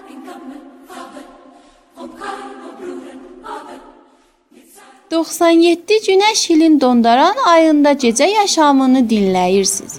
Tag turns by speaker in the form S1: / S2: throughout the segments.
S1: ...97 Günəş ilin dondaran ayında gecə yaşamını dinləyirsiniz.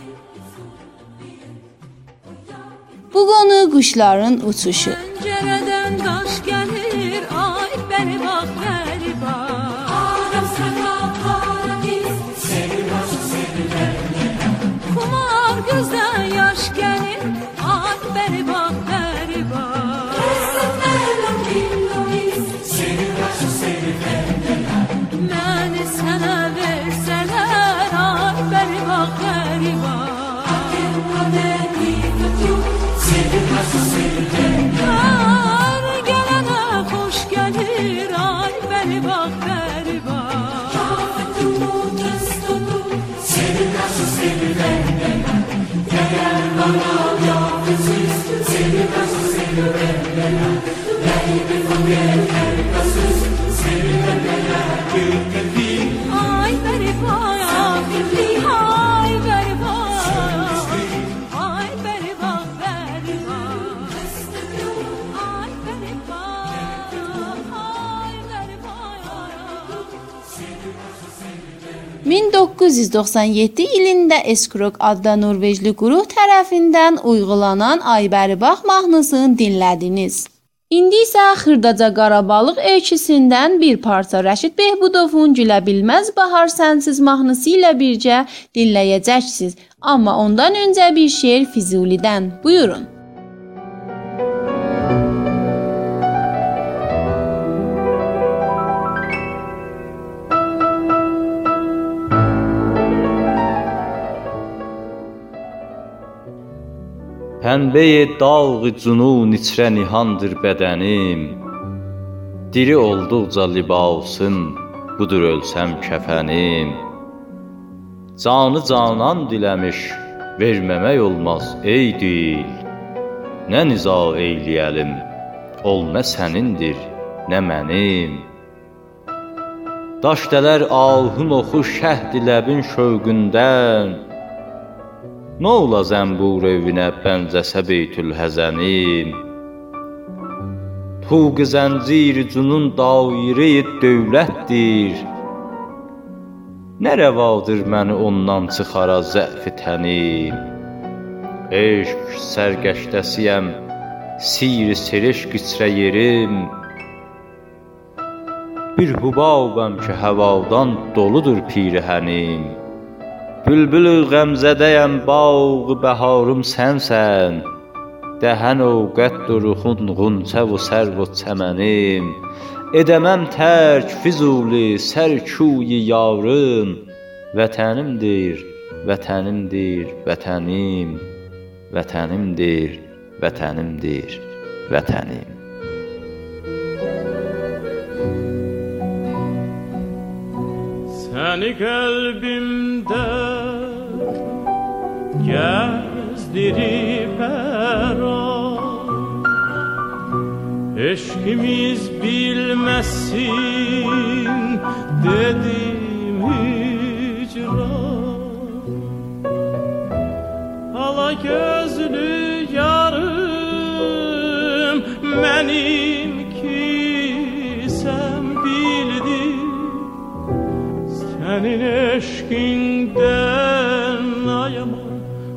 S1: Bu qonu quşların uçuşu.
S2: Pəncərədən qaş gəlir, ay bəri bax, bəri bax. Arasına paradis, sevilir, sevilir. Kumar gözdən yaş gəlir, ay bəri bax, bəri bax. Rəsətlərlə billoyiz, sevilir, sevilir. Məni sənə versələr, ay bəri bax, bəri bax. Hər gələnə xoş gəlir, ay bəri bax, bəri bax. Kafetunu testodu, sevilərsin, sevilərsin. Gələr bana yalnızız, sevilərsin, sevilərsin. Ləybi fakir herkasız, sevilərsin. Ay bəri bax, ay bəri bax. Ay bəri bax, bəri bax.
S1: 1997 ilində Eskrok adlı Norveçli quruh tərəfindən uygulanan Ay bəri bax mahnısını dinlədiniz. İndi isə Xırdaca Qarabağlıq öyküsündən bir parça Rəşid Behbudovun Gülə Bilməz Bahar Sənsiz mahnısı ilə birgə dinləyəcəksiniz. Amma ondan öncə bir şeir Füzulidən. Buyurun.
S3: Pənbə-i dağ-ı cunun içrə nihandır bədənim. Diri olduqca libasım, budur ölsəm kəfənim. Canı canan diləmiş, verməmək olmaz ey dil. Nə niza eyləyəlim, ol nə sənindir, nə mənim. Daş dələr ahın oxu şəhd ləbin şövqündən. Nə ola zəmbur evinə bəncəsə beytül həzənim. Tuğ-ı zəncir cunun daire-i dövlətdir. Nə rəvadır məni ondan çıxara zəf-i tənim. Eşq sərgəşdəsiyəm, sir-i serişq içrə yerim. Bir hubabəm ki həvadan doludur pirihənim. Bülbülü qəmzədəyəm, bağ-ı bəharım sənsən. Dəhən o qədduruxunğunçəv-u sərv-u çəmənim. Edəməm tərk Füzuli sərkuyi yarım. Vətənimdir, vətənimdir, vətənim. Vətənimdir, vətənimdir, vətənim.
S4: Səni qəlbimdə gəzdirib hər an. Eşqimiz bilməsin dedim hicran. Ala gözlü yarım mənim ki sən bildin. Sənin eşqindən ayaman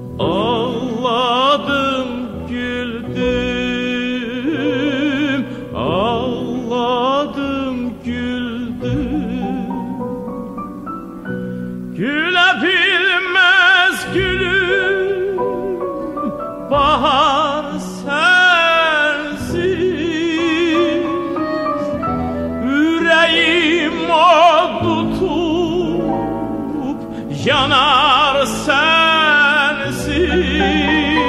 S4: ağladım, güldüm. Ağladım, güldüm. Gülə bilməz gülüm, bahar sənsiz. Ürəyim od tutup yanar sensiz.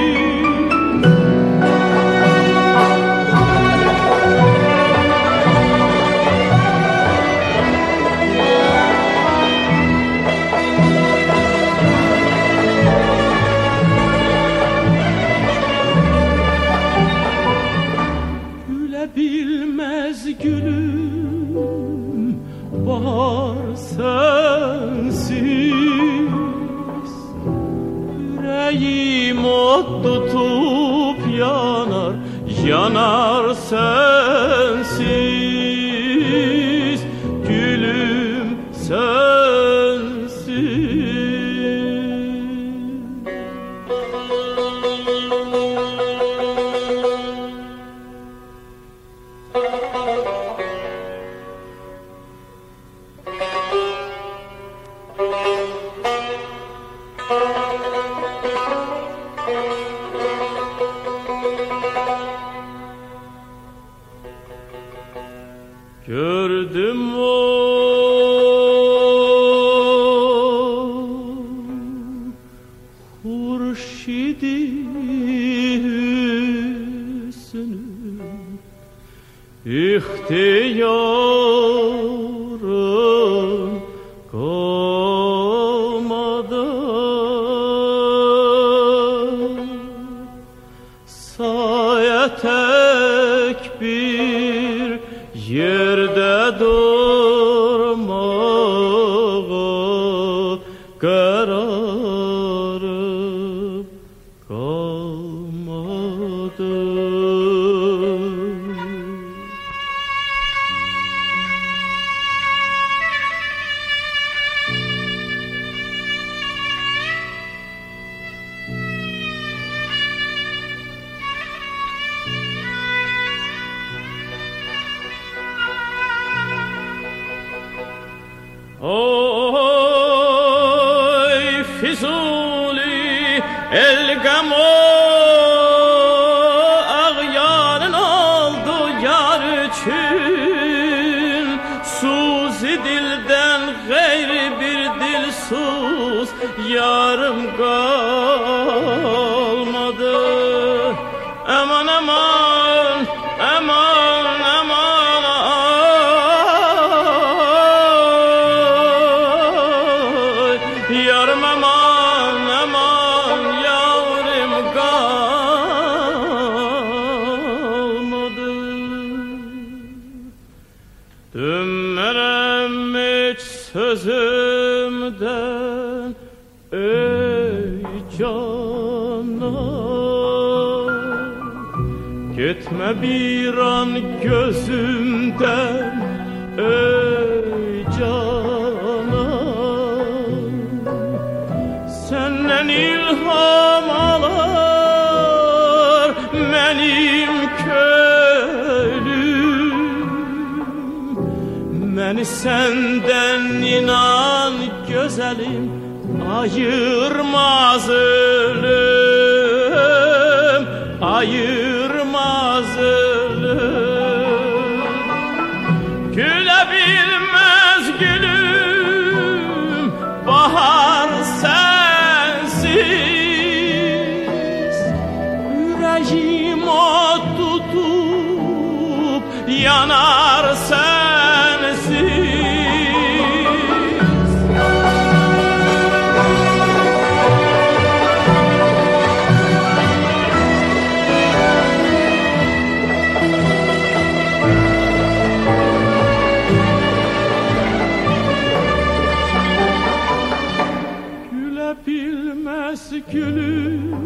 S4: Gülə bilməz gülüm, bahar sensiz. Yüreğim od tutup yanar yanar sensiz, gülüm sensiz. Gördüm o hurşidi hüsnü, ihtiyarım kalmadı. Saye tek bir yerde durmağa kararım kalmadı. Oy Füzuli el gamo ağyarın oldu yar için, suzi dilden gayri bir dilsuz yarım kalmadı. Aman aman aman aman, yarım aman aman, yavrum kalmadı. Dönmerem hiç sözümden ey canan, gitme bir an gözümden ey canan. Senden ilham alar benim könlüm, beni senden inan güzelim ayırmaz ölüm, ayırmaz ölüm. Gülebilmez gülüm bahar sensiz, yüreğim o tutup yanar sensiz. Gülebilmez gülüm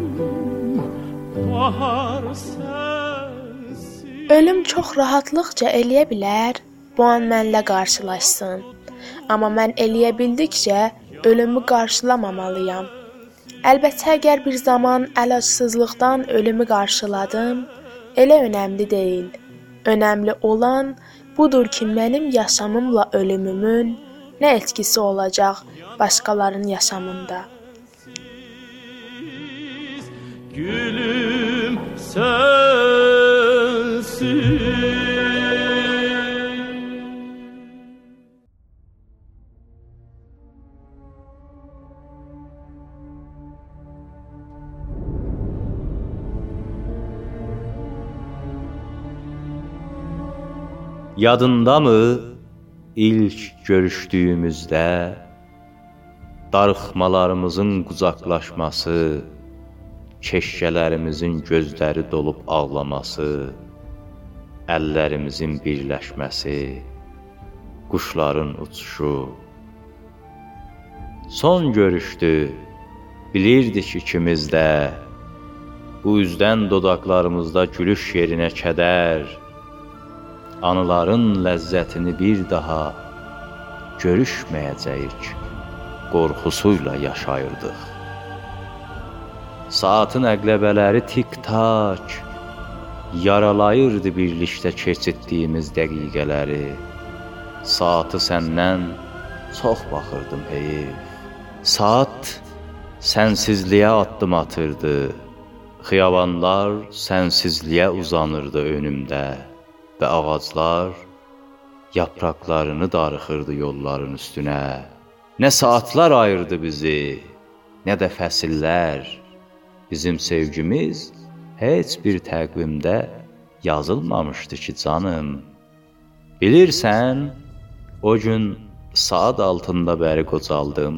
S4: bahar sensiz.
S5: Ölüm çox rahatlıqca eləyə bilər, bu an mənlə qarşılaşsın. Amma mən eləyə bildikcə ölümü qarşılamamalıyam. Əlbəttə, əgər bir zaman əlacısızlıqdan ölümü qarşıladım, elə önəmli deyil. Önəmli olan budur ki, mənim yaşamımla ölümümün nə etkisi olacaq başqalarının yaşamında.
S4: Gülüm sensiz.
S3: Yadındamı ilk görüşdüyümüzdə darıxmalarımızın qucaqlaşması, keşkələrimizin gözləri dolub ağlaması, əllərimizin birləşməsi, quşların uçuşu. Son görüşdü, bilirdik ikimiz də, Bu üzdən dodaqlarımızda gülüş yerinə kədər, anıların ləzzətini bir daha görüşməyəcəyik, qorxusuyla yaşayırdıq. Saatın əqləbələri tik-tak, yaralayırdı birlikdə keçirdiyimiz dəqiqələri. Saatı səndən çox baxırdım heyif. Saat sənsizliyə addım atırdı. Xiyabanlar sənsizliyə uzanırdı önümdə və ağaclar yapraqlarını darıxırdı yolların üstünə. Nə saatlar ayırdı bizi, nə də fəsillər. Bizim sevgimiz heç bir təqvimdə yazılmamışdı ki canım. Bilirsən, o gün saat altında bəri qocaldım.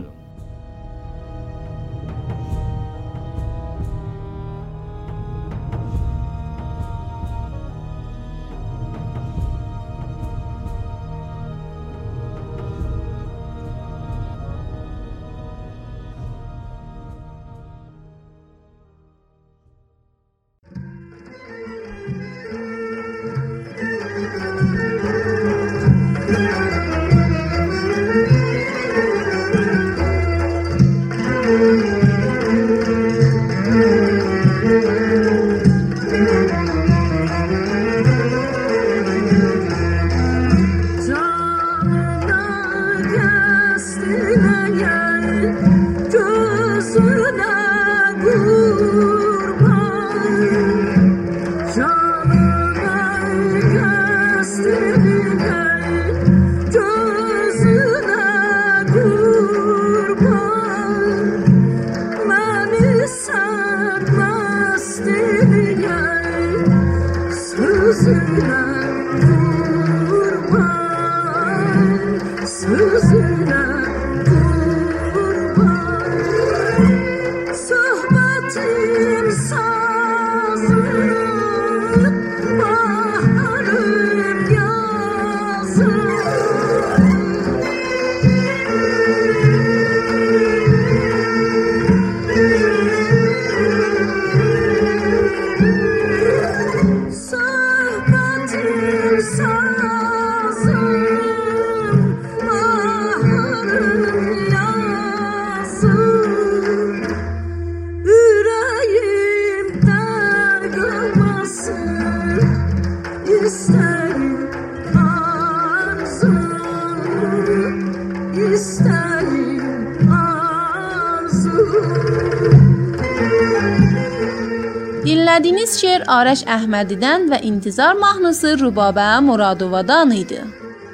S1: Dinlədiyiniz şeir Arəş Əhmədidən və İntizar mahnısı Rübabə Muradovadan idi.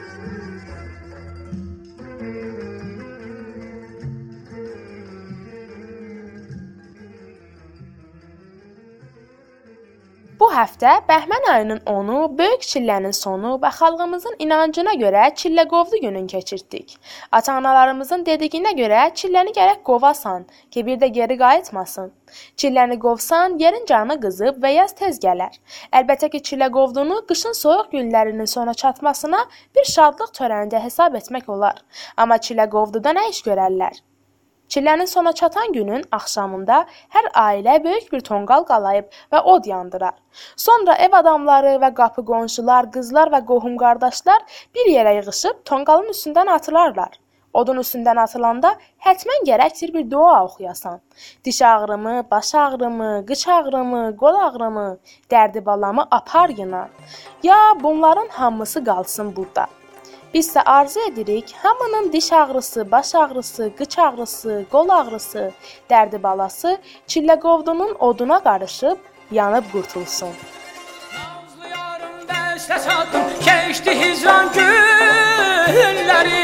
S5: Bu həftə Bəhmən ayının 10-u böyük çillənin sonu və xalqımızın inancına görə çilləqovlu günün keçirtdik. Ata-analarımızın dediyinə görə çilləni gərək qovasan ki, bir də geri qayıtmasın. Çilləni qovsan, yerin canı qızıb və yaz tez gələr. Əlbəttə ki, çilləqovlunu qışın soyuq günlərinin sona çatmasına bir şadlıq törəncə hesab etmək olar. Amma çilləqovluda nə iş görərlər? Çillənin sona çatan günün axşamında hər ailə böyük bir tonqal qalayıb və od yandırar. Sonra ev adamları və qapı qonşular, qızlar və qohum qardaşlar bir yerə yığışıb tonqalın üstündən atılarlar. Odun üstündən atılanda hətmən gərəkdir bir dua oxuyasan. Diş ağrımı, baş ağrımı, qıç ağrımı, qol ağrımı, dərdi balamı apar yına. Ya bunların hamısı qalsın burada. Biz isə arzu edirik, hamının diş ağrısı, baş ağrısı, qıç ağrısı, qol ağrısı, dərdi balası çilləqovlunun oduna qarışıb, yanıb qurtulsun.
S4: Nazlı yarım dəstə çatdım, keçdi hicran günləri.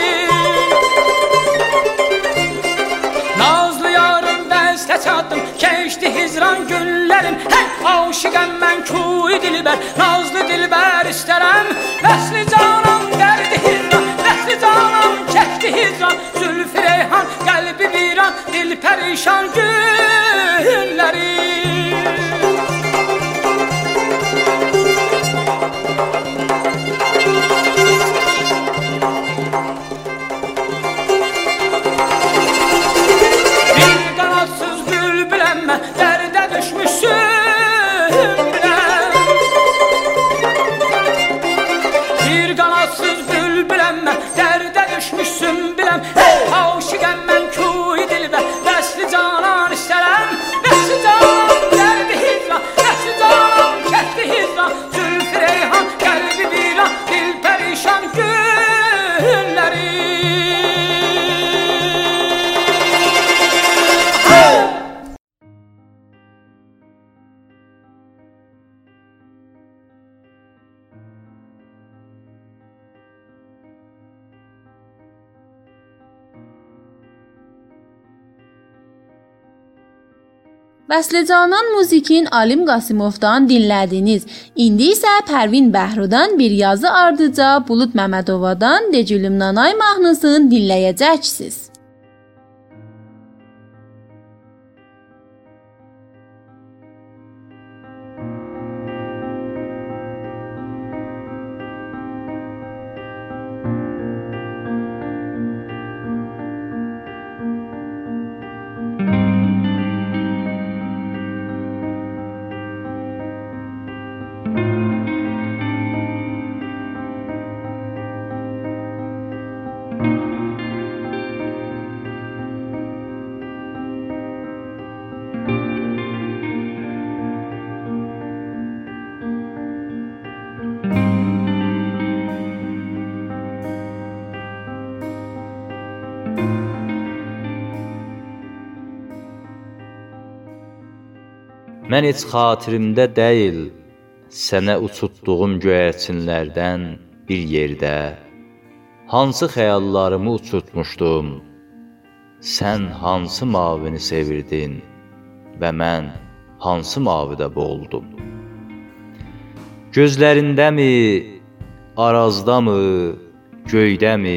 S4: Nazlı yarım dəstə çatdım, keçdi hicran günlərim. Hey, aşiqəm mən kuy dilbər, nazlı dilbər istərəm. Vəsli canım dərdi hicran, vəsli canım çəkdi hicran. Zülfü reyhan, qəlbi viran, dil pərişan günləri. Bir qanadsız bülbüləm mən, dərdə düşmüşsün
S1: Vəslicanan Musikin Alim Qasimovdan dinlədiniz. İndi isə Pərvin Bəhrudan bir yazı ardıca Bulud Məmmədovadan Decülüm Nanay mahnısını dinləyəcəksiniz.
S3: Mən heç xatirimdə deyil, sənə uçutduğum göyərçinlərdən bir yerdə, hansı xəyallarımı uçutmuşdum, sən hansı mavini sevirdin və mən hansı mavidə boğuldum. Gözlərindəmi, arazdamı, göydəmi,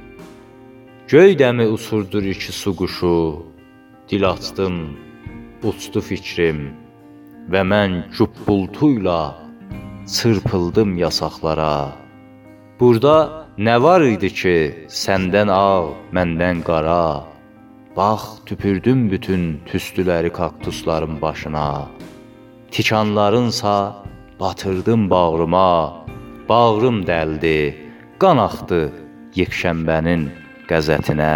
S3: göydəmi uçurdur iki su quşu, dil açdım, uçdu fikrim və mən cübbultuyla çırpıldım yasaqlara. Burada nə var idi ki, səndən ağ, məndən qara, bax, tüpürdüm bütün tüstüləri kaktusların başına, tikanlarınsa batırdım bağrıma, bağrım dəldi, qan axdı yekşənbənin qəzətinə.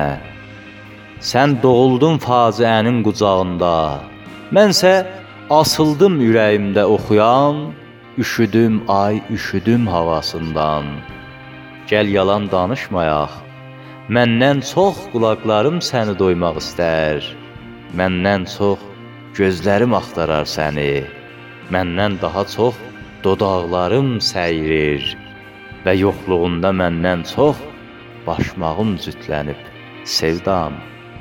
S3: Sən doğuldun faciənin qucağında, mənsə asıldım ürəyimdə oxuyan, üşüdüm ay, üşüdüm havasından. Gəl yalan danışmayaq, məndən çox qulaqlarım səni doymaq istər, məndən çox gözlərim axtarar səni, məndən daha çox dodaqlarım səyirir və yoxluğunda məndən çox başmağım cütlənib sevdam.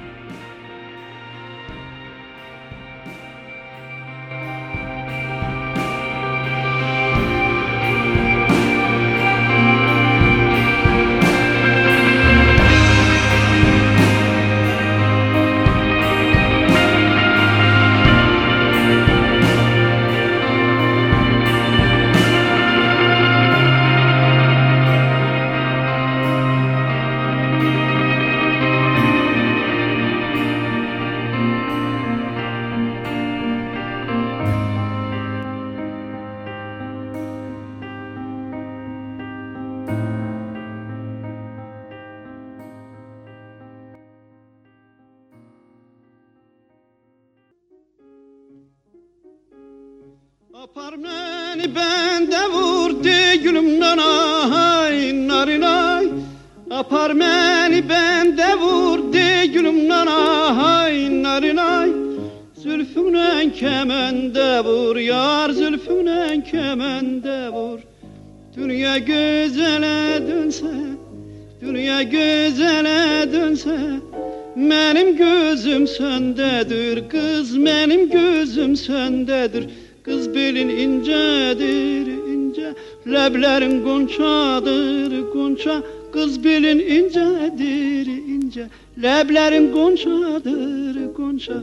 S6: Apar məni bəndə vurdu gülümdən ay, narinay. Apar məni bəndə vurdu gülümdən ay, narinay. Zülfümlə kəməndə vur, yar zülfümlə kəməndə vur. Dünya gözələ dönsə, dünya gözələ dönsə, mənim gözüm səndədir, qız mənim gözüm səndədir. Qız belin incədir, incə, ləblərin qonçadır, qonça. Qız belin incədir, incə, ləblərin qonçadır, qonça.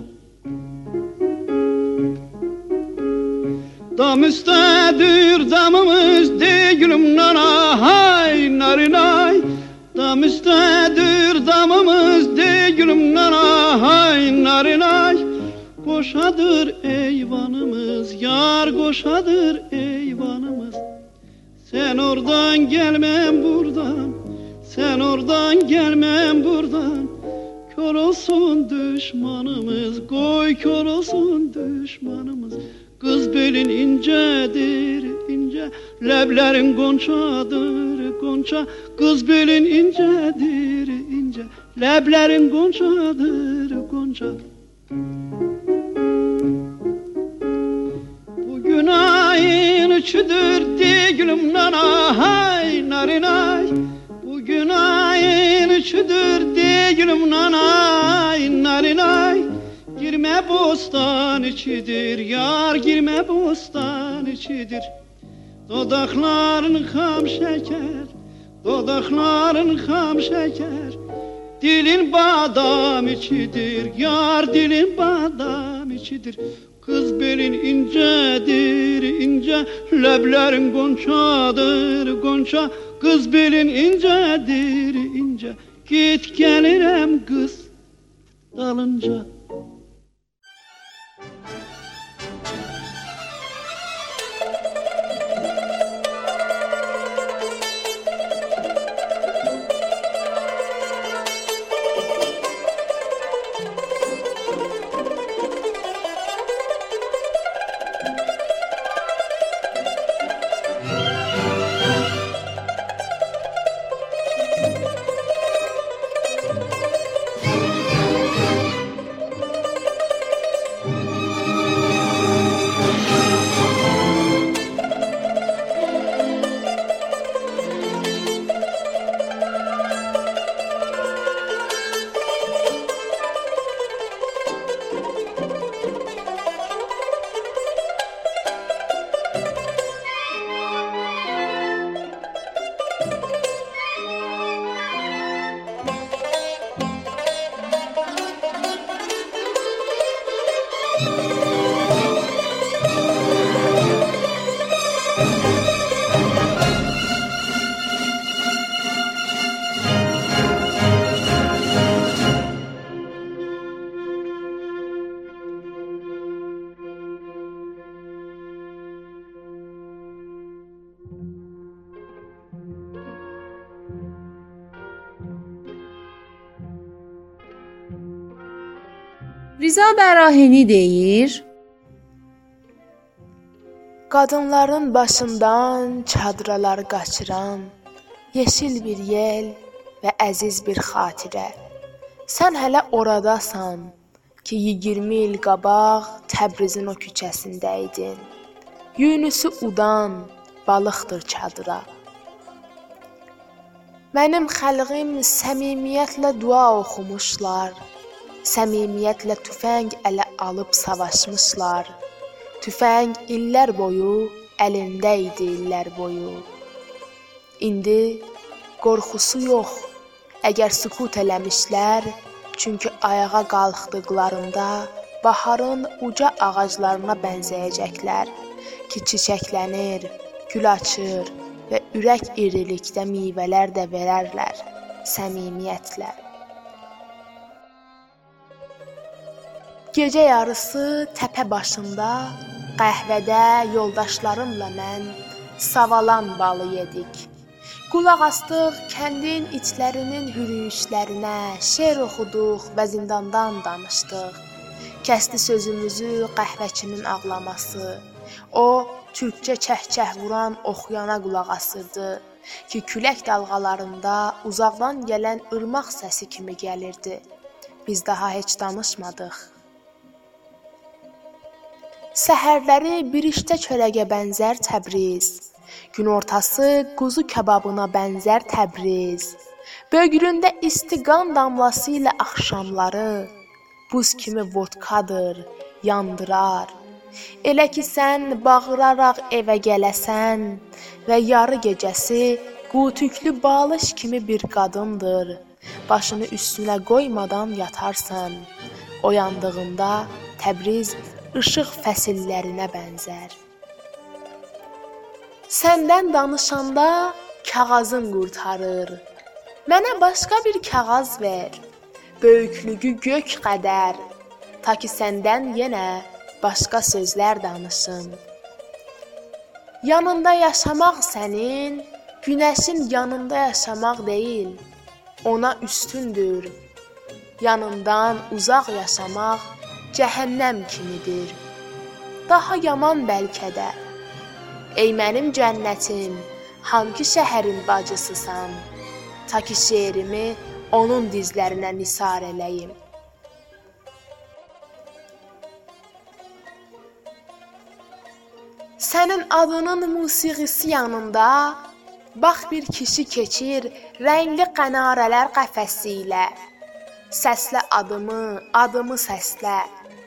S6: Dam üstədir damımız, deyilüm nanay, narinay. Dam üstədir damımız, deyilüm nanay, narinay. Qoşadır eyvanımız, yar qoşadır eyvanımız. Sen oradan gelmem buradan, sen oradan gelmem buradan. Kör olsun düşmanımız, koy kör olsun düşmanımız. Kız belin incedir, ince, leblerin gonçadır, gonça. Kız belin incedir, ince, leblerin gonçadır, gonça. Bugün ayın üçüdür gülüm nanay, narinay. Bugün ayın üçüdür gülüm nanay, narinay. Girme Girme bostan içidir, yar girme bostan içidir. Dodakların ham şeker, dodakların ham şeker. Dilin badam içidir, yar dilin badam içidir. Kız belin incedir, ince, leblerin gonçadır, gonça. Kız belin incedir, ince, git gelirim kız dalınca.
S1: Rza Bərahini deyir:
S5: Qadınların başından çadralar qaçıran, yeşil bir yel və əziz bir xatirə. Sən hələ oradasan ki, 20 il qabaq Təbrizin o küçəsində idin. Yunus'u udan balıqdır çadıra. Mənim xəlqim səmimiyyətlə dua oxumuşlar. Səmimiyyətlə tüfəng ələ alıb savaşmışlar. Tüfəng illər boyu əlində idi illər boyu. İndi qorxusu yox. Əgər sükut eləmişlər, çünki ayağa qalxdıqlarında baharın uca ağaclarına bənzəyəcəklər ki, çiçəklənir, gül açır və ürək irilikdə meyvələr də verərlər səmimiyyətlə. Gecə yarısı təpə başında, qəhvədə yoldaşlarımla mən savalan balı yedik. Qulaq astıq kəndin itlərinin hürüşlərinə, şeir oxuduq və zindandan danışdıq. Kəsdi sözümüzü qəhvəçinin ağlaması. O, türkcə çəh-çəh vuran oxuyana qulaq asırdı ki, külək dalğalarında uzaqdan gələn ırmaq səsi kimi gəlirdi. Biz daha heç danışmadıq. Səhərləri bir işdə çörəyə bənzər Təbriz. Gün ortası quzu kababına bənzər Təbriz. Bögründə istiqan damlası ilə axşamları buz kimi vodkadır, yandırar. Elə ki sən bağıraraq evə gələsən və yarı gecəsi qutüklü balış kimi bir qadındır. Başını üstünə qoymadan yatarsan. Oyandığında Təbriz işıq fəsillərinə bənzər. Səndən danışanda kağızın qurtarır. Mənə başqa bir kağız ver. Böyüklüyü gök qədər. Ta ki səndən yenə başqa sözlər danışın. Yanında yaşamaq sənin, günəşin yanında yaşamaq deyil. Ona üstündür. Yanından uzaq yaşamaq cəhənnəm kimidir. Daha yaman bəlkə də. Ey mənim cənnətim, hangi şəhərin bacısısan? Ta ki şeirimi onun dizlərinə nisar eləyim. Sənin adının musiqisi yanında, bax bir kişi keçir rəngli qənarələr qəfəsi ilə. Səslə adımı, adımı səslə.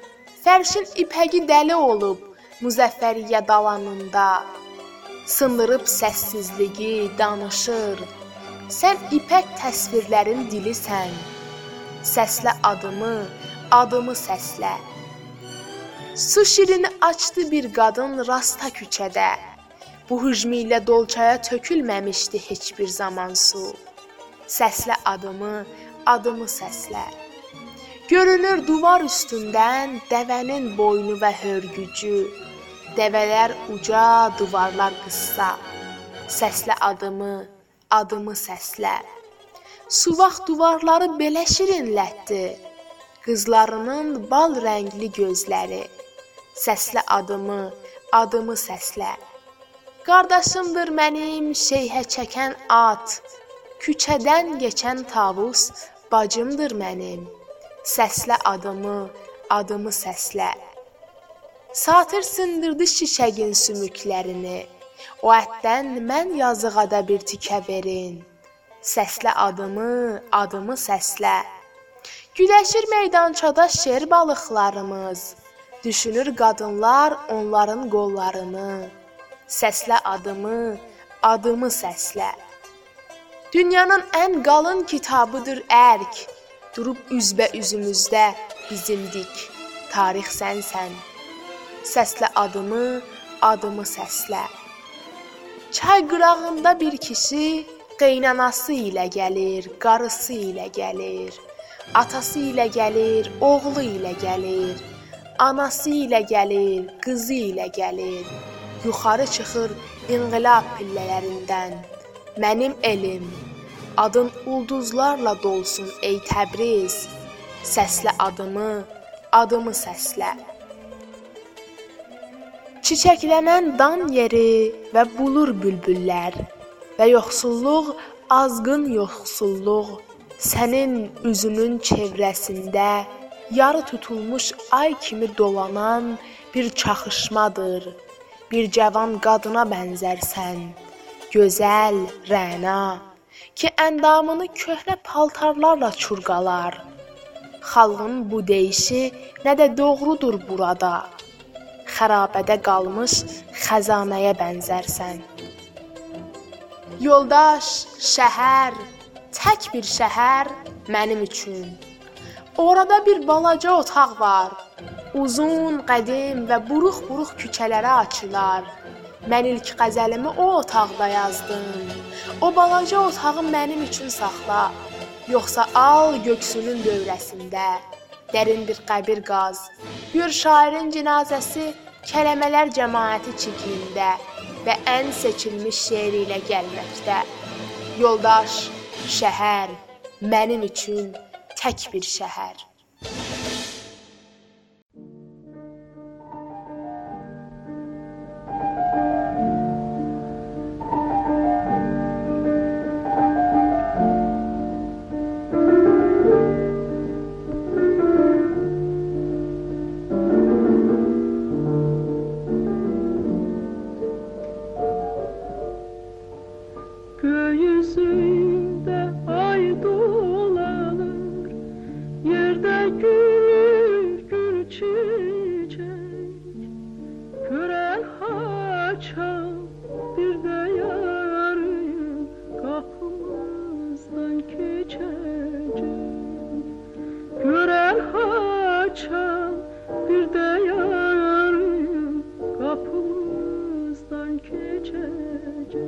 S5: Fərşin ipəgi dəli olub Müzəffəriyyə dalanında. Sındırıb səssizliyi danışır. Sən ipək təsvirlərin dilisən. Səslə adımı, adımı səslə. Su şirini açdı bir qadın rasta küçədə. Bu hücmi ilə dolçaya tökülməmişdi heç bir zaman su. Səslə adımı, adımı səslə. Görünür duvar üstündən dəvənin boynu və hörgücü. Dəvələr uca, duvarlar qıssa. Səslə adımı, adımı səslə. Suvaq duvarları belə şirinlətdi. Qızlarının bal rəngli gözləri. Səslə adımı, adımı səslə. Qardaşımdır mənim şeyhə çəkən at. Küçədən keçən tavus bacımdır mənim. Səslə adımı, adımı səslə. Satır sındırdı şişəgin sümüklərini. O ətdən mən yazıqada bir tikə verin. Səslə adımı, adımı səslə. Güləşir meydançada şer balıqlarımız. Düşünür qadınlar onların qollarını. Səslə adımı, adımı səslə. Dünyanın ən qalın kitabıdır ərk. Durub üzbə-üzümüzdə bizim dik. Tarix sənsən. Səslə adımı, adımı səslə. Çay qırağında bir kişi qeynanası ilə gəlir, qarısı ilə gəlir. Atası ilə gəlir, oğlu ilə gəlir. Anası ilə gəlir, qızı ilə gəlir. Yuxarı çıxır inqilab pillələrindən. Mənim elim, adın ulduzlarla dolsun ey Təbriz. Səslə adımı, adımı səslə. Çiçəklənən dan yeri və bulur bülbüllər. Və yoxsulluq, azğın yoxsulluq. Sənin üzünün çevrəsində yarı tutulmuş ay kimi dolanan bir çaxışmadır. Bir cavan qadına bənzərsən, gözəl, rəna, ki əndamını köhnə paltarlarla çurqalar. Xalqın bu deyişi nə də doğrudur burada. Xərabədə qalmış xəzanəyə bənzərsən. Yoldaş, şəhər, tək bir şəhər mənim üçün. Orada bir balaca otaq var. Uzun, qədim və buruq-buruq küçələrə açılar. Mən ilk qəzəlimi o otaqda yazdım. O balaca otağı mənim üçün saxla. Yoxsa al göksünün dövrəsində. Dərin bir qəbir qaz. Gör şairin cinazəsi kələmələr cəmaəti çiklində və ən seçilmiş şeiri ilə gəlməkdə. Yoldaş, şəhər, mənim üçün tək bir şəhər.
S6: Göğsünde ay dolanır, yerde gülür gül çiçek. Gören haçan bir de yarın kapımızdan geçecek. Gören haçan bir de yarın kapımızdan geçecek.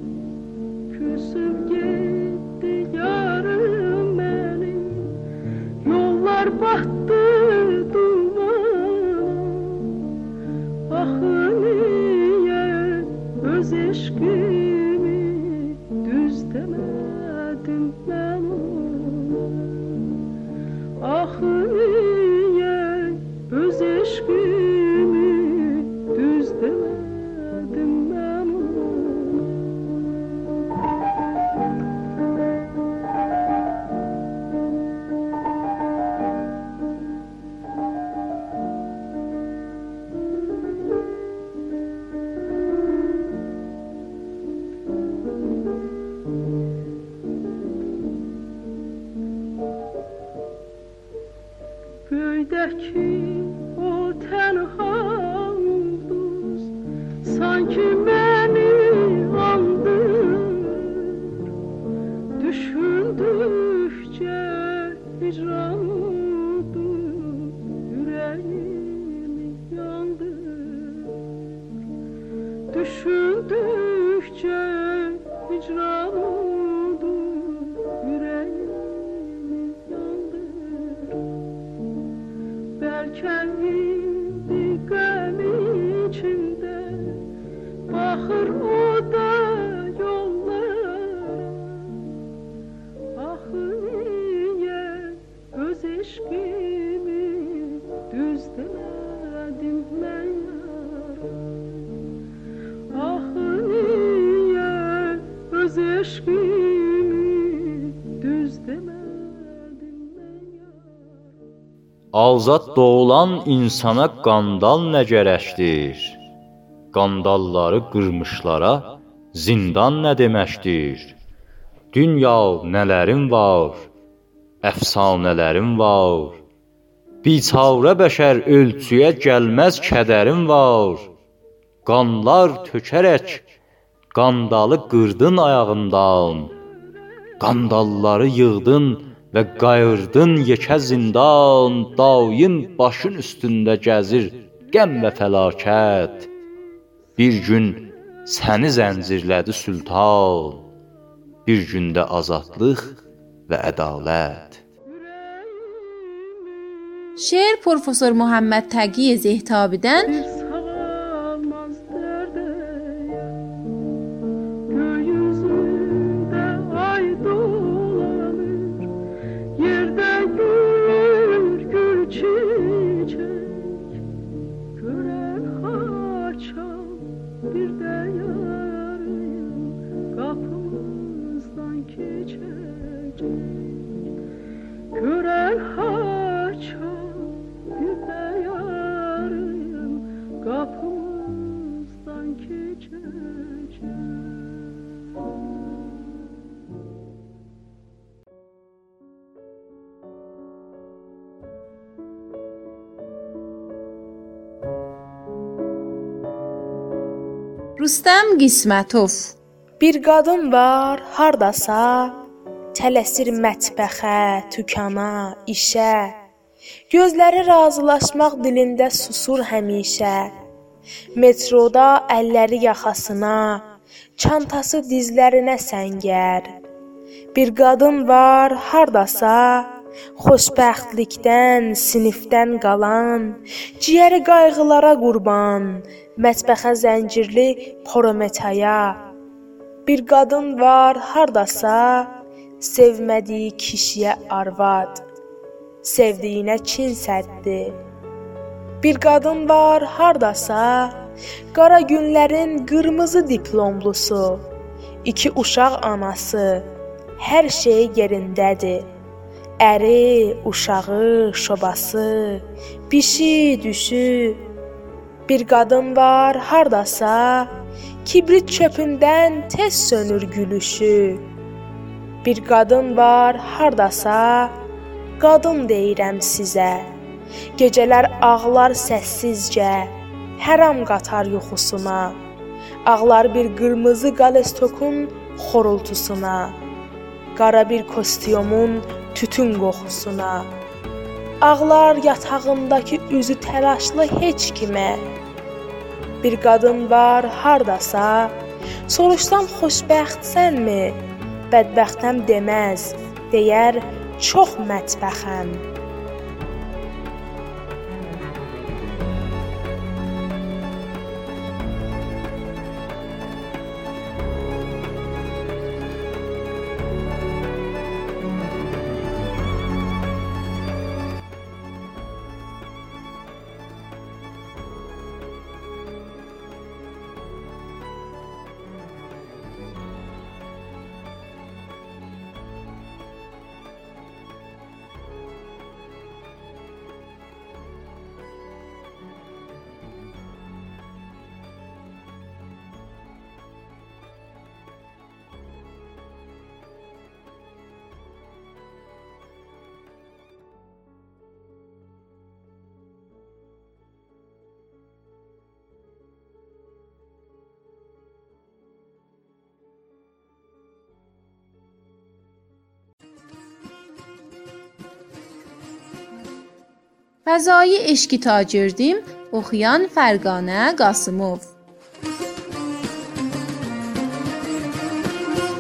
S6: Küsüp gitti yarım benim, yollar battı dumana. Ah niye öz eşkimi düz demedim ben ona. Ah niye öz eşkimi düz demedim ben ona. hicran oldu, yüreğimi yandır. Belki indi gəm içinde, bakır o da yollara. Axı niye öz eşkimi düz demedim ben yar. Axı niye öz eşkimi düz demedim ben yar.
S3: Azad doğulan insana qandal nə gərəkdir? Qandalları qırmışlara zindan nə deməkdir? Dünya nələrin var, əfsanələrin var. Biçarə bəşər ölçüyə gəlməz kədərin var. Qanlar tökərək qandalı qırdın ayağından. Qandalları yığdın və qayırdın yekə zindan. Daim başın üstündə gəzir qəm və fəlakət. Bir gün səni zəncirlədi sultan. Bir gündə azadlıq və ədalət.
S1: Şeir Profesör Muhammed Təqiy Zehtabidən
S6: Sağalmaz derdeye, gökyüzünde ay dolanır, yerde gül gül çiçek, gören haçan bir de yarın kapımızdan geçecek. Gören haçan bir de yarın kapımızdan geçecek.
S1: Rüstəm Qismətov.
S5: Bir qadın var hardasa, tələsir mətbəxə, tükana, işə. Gözləri razılaşmaq dilində susur həmişə. Metroda əlləri yaxasına, çantası dizlərinə səngər. Bir qadın var hardasa, xoşbəxtlikdən, sinifdən qalan, ciyəri qayğılara qurban, mətbəxə zəncirli Prometaya. Bir qadın var hardasa, sevmədiyi kişiyə arvad, sevdiyinə Çin səddi. Bir qadın var hardasa, qara günlərin qırmızı diplomlusu, 2 uşaq anası, hər şey yerindədir. Əri, uşağı, şobası, bişi, düşü. Bir qadın var hardasa, kibrit çöpündən tez sönür gülüşü. Bir qadın var hardasa, qadın deyirəm sizə. Gecələr ağlar səssizcə, həram qatar yuxusuna. Ağlar bir qırmızı qalestokun xorultusuna. Qara bir kostyumun tütün qoxusuna. Ağlar yatağındakı üzü təlaşlı heç kimə. Bir qadın var hardasa, soruşsam xoşbəxtsənmi? Bədbəxtəm deməz, deyər çox mətbəxəm.
S1: Fəzai eşqi tacirdim, oxuyan Fərqanə Qasımov.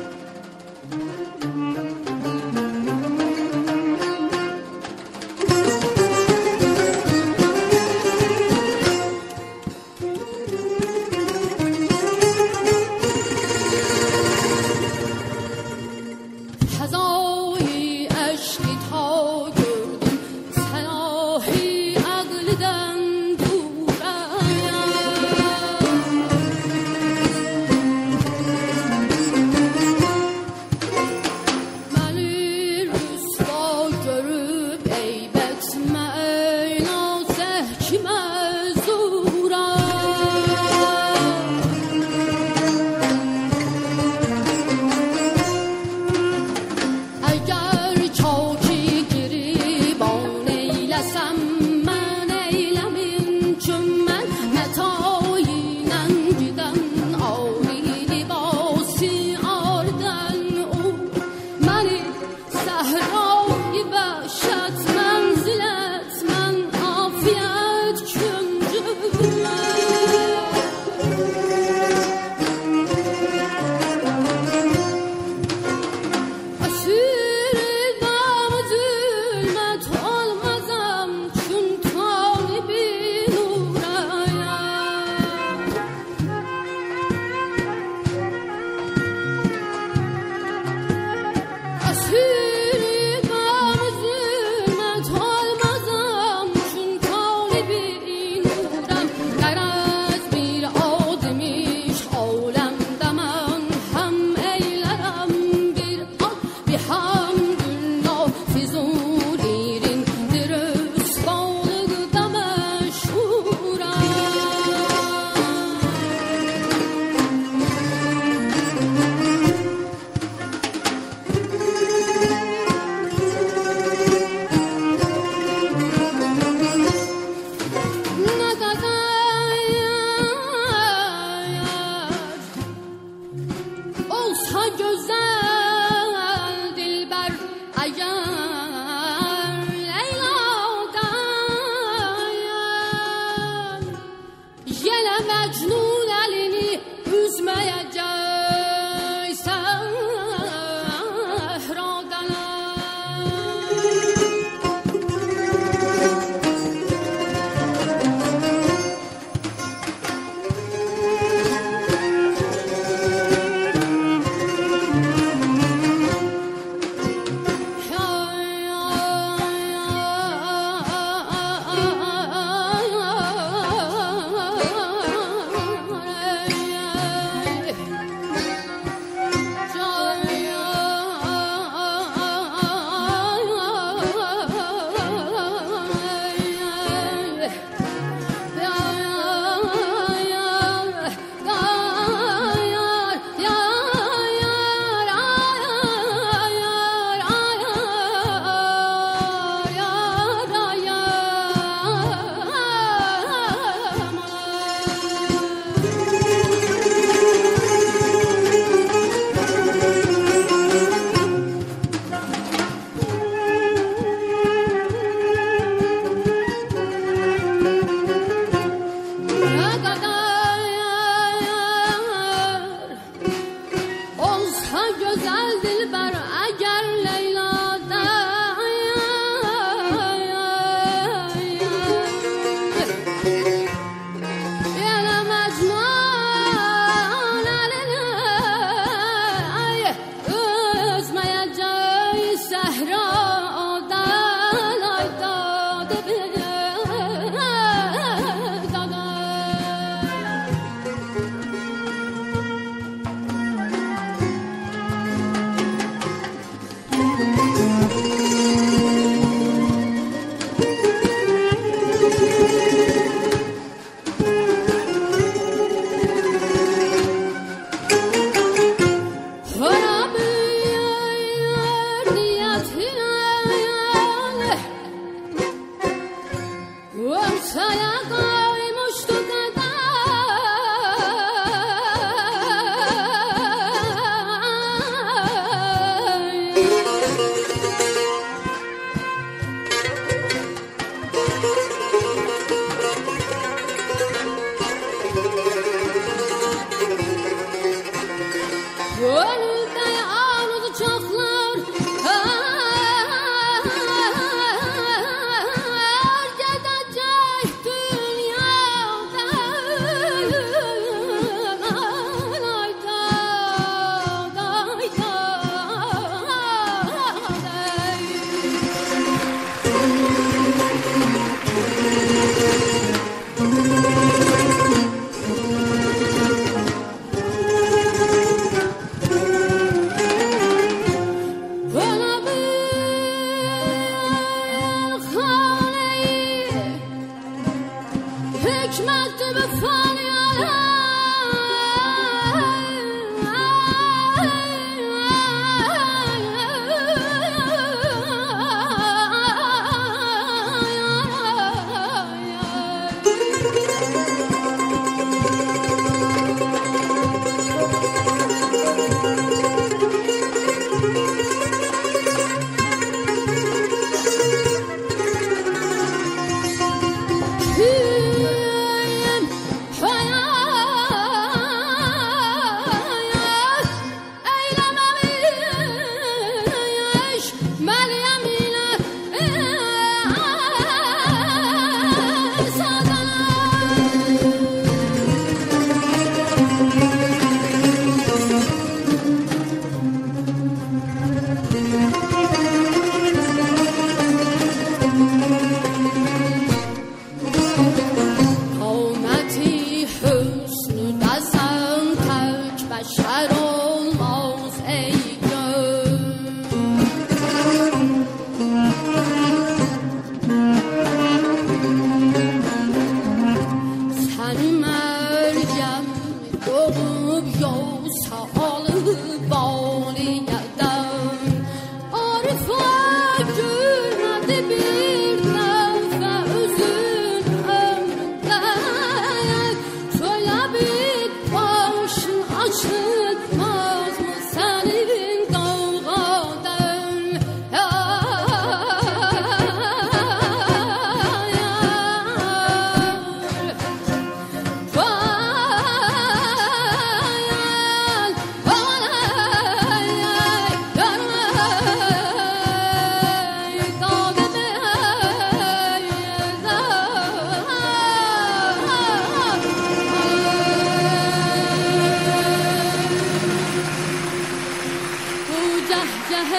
S7: gözəl dilbər əgər Leyla'dan yenə Məcnun əlini üzməyəcək səhradan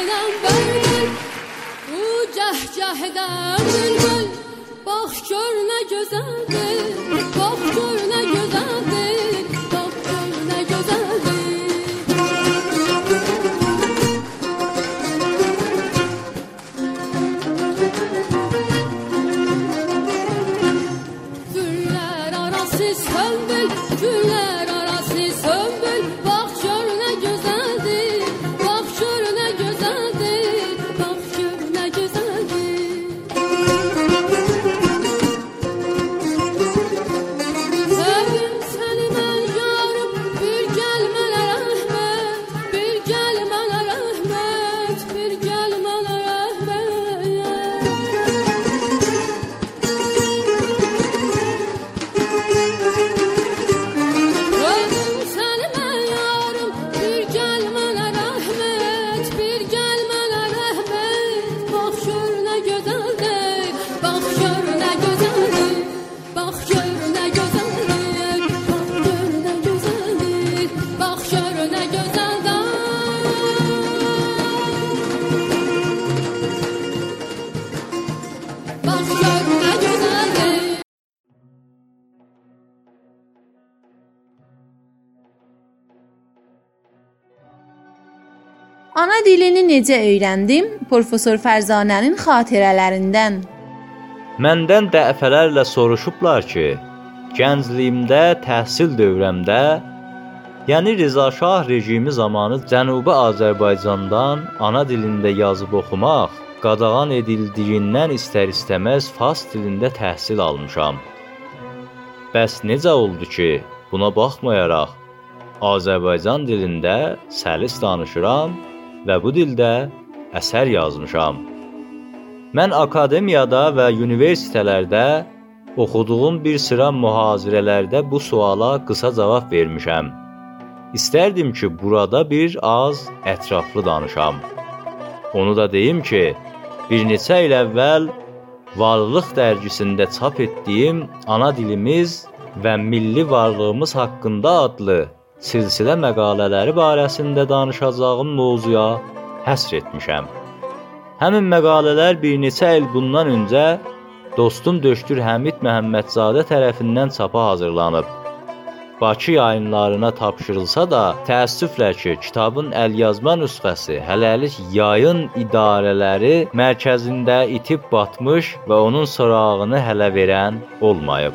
S7: Bülbüləm bülbül, bu cəhcəhdən bülbül, bax gör nə gözəldir, bax gör nə gözəldir, bax gör nə gözəldir. Güller arası sömbül, güller arası sömbül, bax gör nə gözəldir, bax gör nə gözəldir, bax gör nə gözəldir. Sevdim səni mən yarım, bir gəl mənə rəhmət, bir gəl mənə rəhmət, bir gəl mənə rəhmət. Sevdim səni mən yarım, bir gəl mənə rəhmət, bir gəl mənə rəhmət. Bax gör nə gözəldir, bax gör nə gözəldir, bax gör nə gözəldir, bax gör nə gözəldir, bax gör nə gözəldir. Bax gör nə gözəldir.
S1: Ana dilini necə öyrəndim? Professor Fərzanənin xatirələrindən.
S3: Məndən dəfələrlə soruşublar ki, gəncliyimdə, təhsil dövrəmdə, yəni Rza Şah rejimi zamanı Cənubi Azərbaycandan ana dilində yazıb oxumaq qadağan edildiyindən istər-istəməz fars dilində təhsil almışam. Bəs necə oldu ki, buna baxmayaraq Azərbaycan dilində səlis danışıram və bu dildə əsər yazmışam. Mən akademiyada və universitetlərdə oxuduğum bir sıra mühazirələrdə bu suala qısa cavab vermişəm. İstərdim ki, burada bir az ətraflı danışam. Onu da deyim ki, bir neçə il əvvəl Varlıq dərgisində çap etdiyim Ana dilimiz və milli varlığımız haqqında adlı silsilə məqalələri barəsində danışacağım mövzuya həsr etmişəm. Həmin məqalələr bir neçə il bundan öncə dostum Döştür Həmid Məhəmmədzadə tərəfindən çapa hazırlanıb. Bakı yayınlarına tapşırılsa da, təəssüflə ki, kitabın əlyazma nüsxəsi hələlik yayın idarələri mərkəzində itib batmış və onun sorağını hələ verən olmayıb.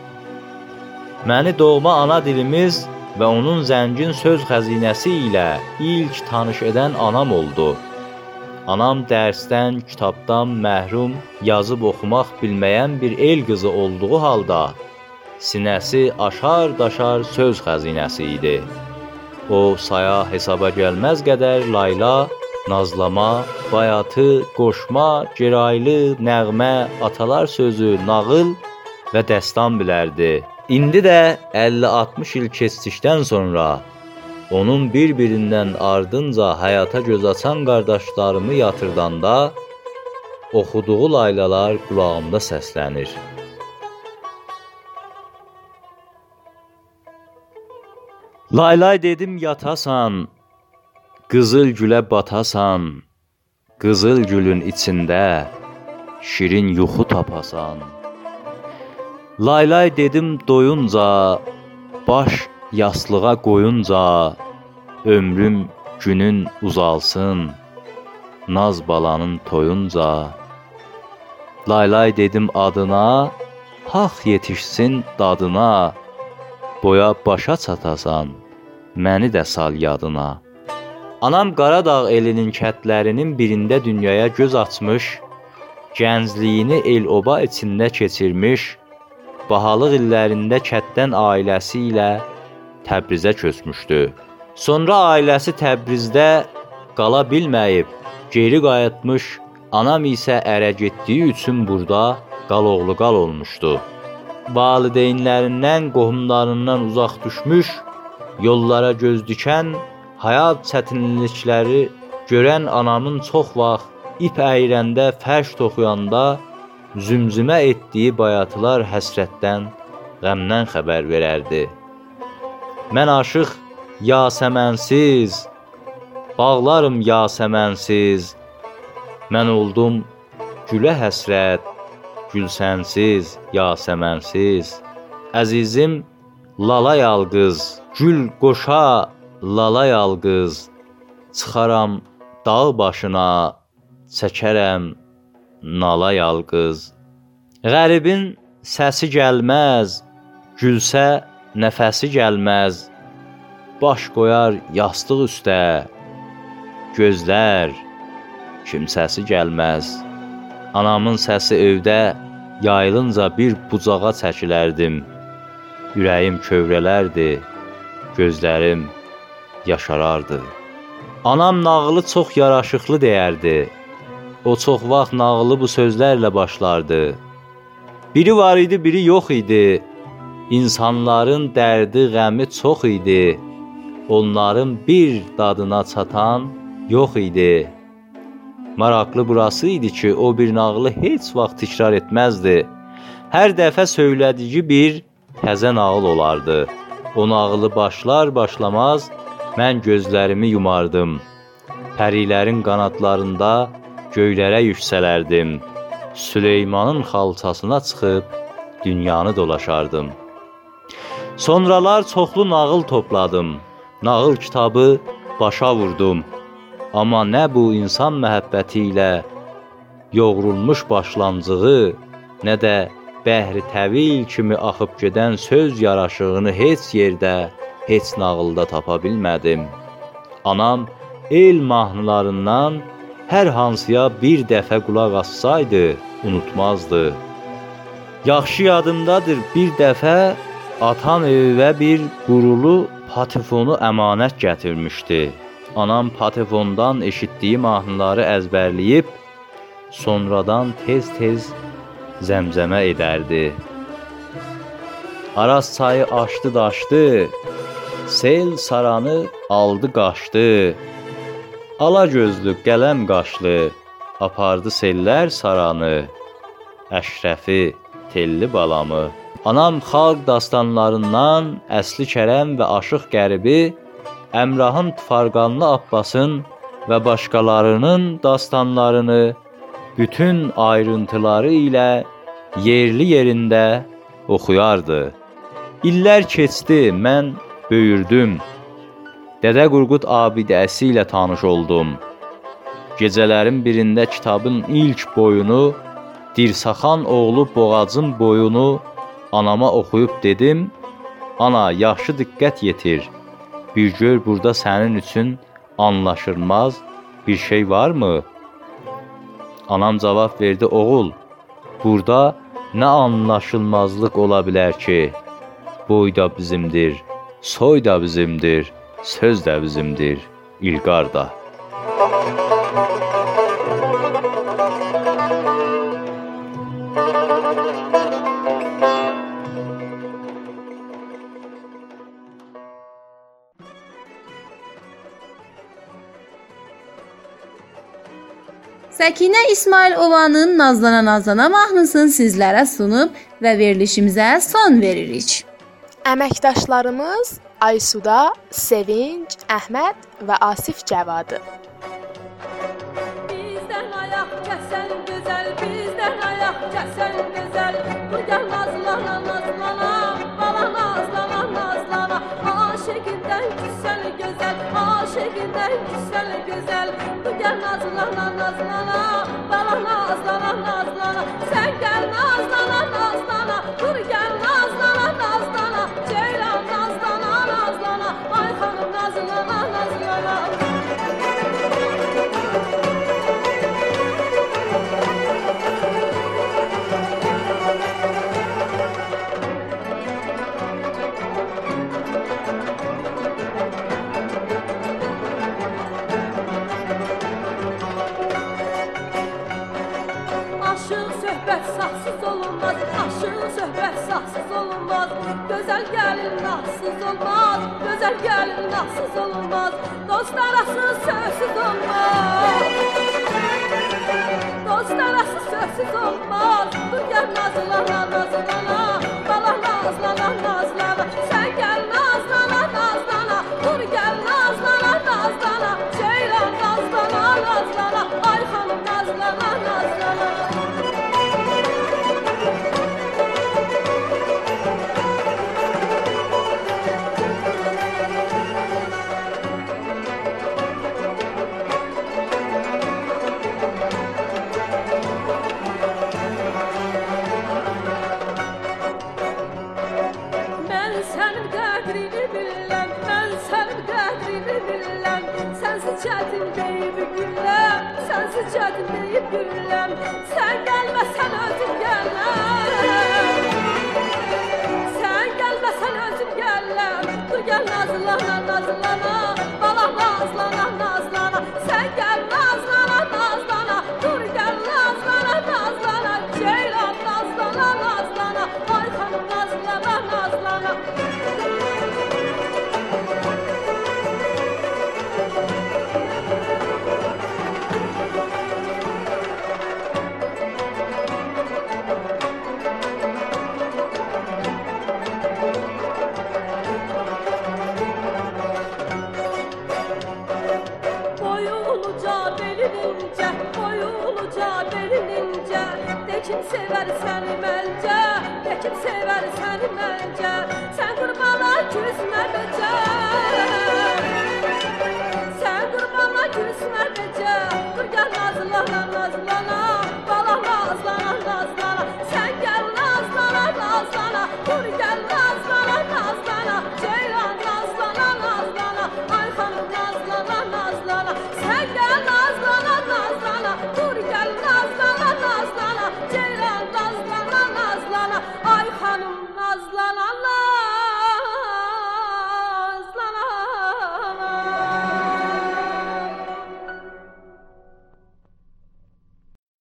S3: Məni doğma ana dilimiz və onun zəngin söz xəzinəsi ilə ilk tanış edən anam oldu. Anam dərsdən, kitabdan məhrum, yazıb oxumaq bilməyən bir el qızı olduğu halda, sinəsi aşar-daşar söz xəzinəsi idi. O, saya hesaba gəlməz qədər layla, nazlama, bayatı, qoşma, geraylı, nəğmə, atalar sözü, nağıl və dəstan bilərdi. İndi də 50-60 il keçdikdən sonra onun bir-birindən ardınca həyata göz açan qardaşlarımı yatırdanda oxuduğu laylalar qulağımda səslənir. Laylay dedim yatasan, qızıl gülə batasan, qızıl gülün içində şirin yuxu tapasan. Laylay dedim doyunca, baş yaslığa qoyunca, ömrüm günün uzalsın, naz balanın toyunca. Laylay dedim adına, haq yetişsin dadına, boya başa çatasan, məni də sal yadına. Anam Qaradağ elinin kətlərinin birində dünyaya göz açmış, gəncliyini el-oba içində keçirmiş, bahalıq illərində kətdən ailəsi ilə Təbrizə köçmüşdü. Sonra ailəsi Təbrizdə qala bilməyib, geri qayıtmış, anam isə ərə getdiyi üçün burada qaloğlu qal olmuşdu. Valideynlərindən, qohumlarından uzaq düşmüş, yollara göz dikən, həyat çətinlikləri görən anamın çox vaxt ip əyirəndə, fərş toxuyanda zümzümə etdiyi bayatılar həsrətdən, qəmdən xəbər verərdi. Mən aşıq Yasəmənsiz, bağlarım yasəmənsiz. Mən oldum gülə həsrət, gül sənsiz, yasəmənsiz. Əzizim lala yalqız, gül qoşa lala yalqız. Çıxaram dağ başına, çəkərəm nala yalqız. Qəribin səsi gəlməz, gülsə nəfəsi gəlməz. Baş qoyar yastıq üstə, gözlər kimsəsi gəlməz. Anamın səsi evdə yayılınca bir bucağa çəkilərdim. Ürəyim kövrələrdi, gözlərim yaşarardı. Anam nağılı çox yaraşıqlı deyərdi. O çox vaxt nağılı bu sözlərlə başlardı. Biri var idi, biri yox idi. İnsanların dərdi, qəmi çox idi. Onların bir dadına çatan yox idi. Maraqlı burası idi ki, o bir nağılı heç vaxt təkrar etməzdi. Hər dəfə söylədiyi bir təzə nağıl olardı. O nağılı başlar başlamaz mən gözlərimi yumardım. Pərilərin qanadlarında göylərə yüksələrdim. Süleymanın xalçasına çıxıb dünyanı dolaşardım. Sonralar çoxlu nağıl topladım. Nağıl kitabı başa vurdum. Amma nə bu insan məhəbbəti ilə yoğrulmuş başlanğıcı, nə də bəhri təvil kimi axıb gedən söz yaraşığını heç yerdə, heç nağılda tapa bilmədim. Anam el mahnılarından hər hansıya bir dəfə qulaq assaydı, unutmazdı. Yaxşı yadımdadır, bir dəfə atam evə bir qurulu patifonu əmanət gətirmişdi. Anam patifondan eşitdiyi mahnıları əzbərləyib, sonradan tez-tez zəmzəmə edərdi. Araz çayı aşdı daşdı, sel saranı aldı qaşdı. Ala gözlü qələm qaşlı, apardı sellər saranı. Əşrəfi telli balamı. Anam xalq dastanlarından Əsli Kərəm və Aşıq Qəribi, Əmrahın Tufarqanlı Abbasın və başqalarının dastanlarını bütün ayrıntıları ilə yerli yerində oxuyardı. İllər keçdi, mən böyürdüm. Dədə Qurqud abidəsi ilə tanış oldum. Gecələrin birində kitabın ilk boyunu, Dirsaxan oğlu Boğacın boyunu anama oxuyub dedim, ana, yaxşı diqqət yetir. Bir gör burada sənin üçün anlaşılmaz bir şey varmı? Anam cavab verdi, oğul, burada nə anlaşılmazlıq ola bilər ki? Boy da bizimdir, soy da bizimdir, söz də bizimdir, İlqar da.
S1: Səkinə İsmailovanın Nazlana Nazlana mahnısını sizlərə sunub və verilişimizə son veririk.
S5: Əməkdaşlarımız Aysuda, Sevinç, Əhməd və Asif Cəvadı.
S2: Bizdən ayaq kəsən gözəl, bizdən ayaq kəsən gözəl. Bu gəl nazlana nazlana, bala nazlana nazlana. Aşiqindən küsən gözəl, aşiqindən küsən gözəl. Bu gəl nazlana nazlana, bala nazlana nazlana. Sən gəl nazlana nazlana, dur gəl nazlana nazlana. Ceylan nazlana nazlana, ay xanım nazlana nazlana. Aşıq söhbət saxsız olunmaz, aşıq söhbət saxsız olunmaz. Gözəl gəlin nahsız olmaz, gözəl gəlin nahsız olunmaz. Dost arası sözsüz olmaz, dost arası sözsüz olmaz. Dur gəl nazlana nazlana, bala nazlana nazlana. Sən gəl nazlana nazlana, dur gəl nazlana nazlana. Ceylan gedin deyib gülləm. Sən gəlməsən özüm gələm. Sən gəlməsən özüm gələm. Dur gəl nazlana, nazlana, balam nazlana, nazlana. Sən gəl nazlana, nazlana, dur gəl nazlana, nazlana. Ceylan nazlana, nazlana, ay xanım nazlana, nazlana. Kim sever səni məncə, kim sever səni məncə. Sən qurbana küsmə becə. Sən qurbana küsmə becə. Dur gəl nazlana, nazlana, bala nazlana, nazlana. Sən gəl nazlana, nazlana, dur gəl nazlana, nazlana. Ceylan nazlana, nazlana, ay xanım nazlana, nazlana. Sən gəl nazlana, nazlana, dur gəl nazlana, nazlana. Ceylan nazlana, nazlana, ay xanım